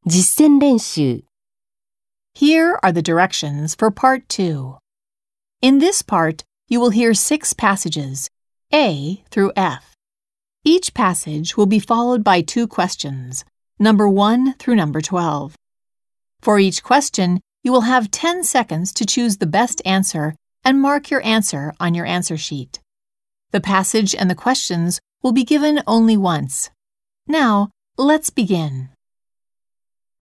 実践練習 Here are the directions for Part 2. In this part, you will hear 6 passages, A through F. Each passage will be followed by 2 questions, number 1 through number 12. For each question, you will have 10 seconds to choose the best answer and mark your answer on your answer sheet. The passage and the questions will be given only once. Now, let's begin.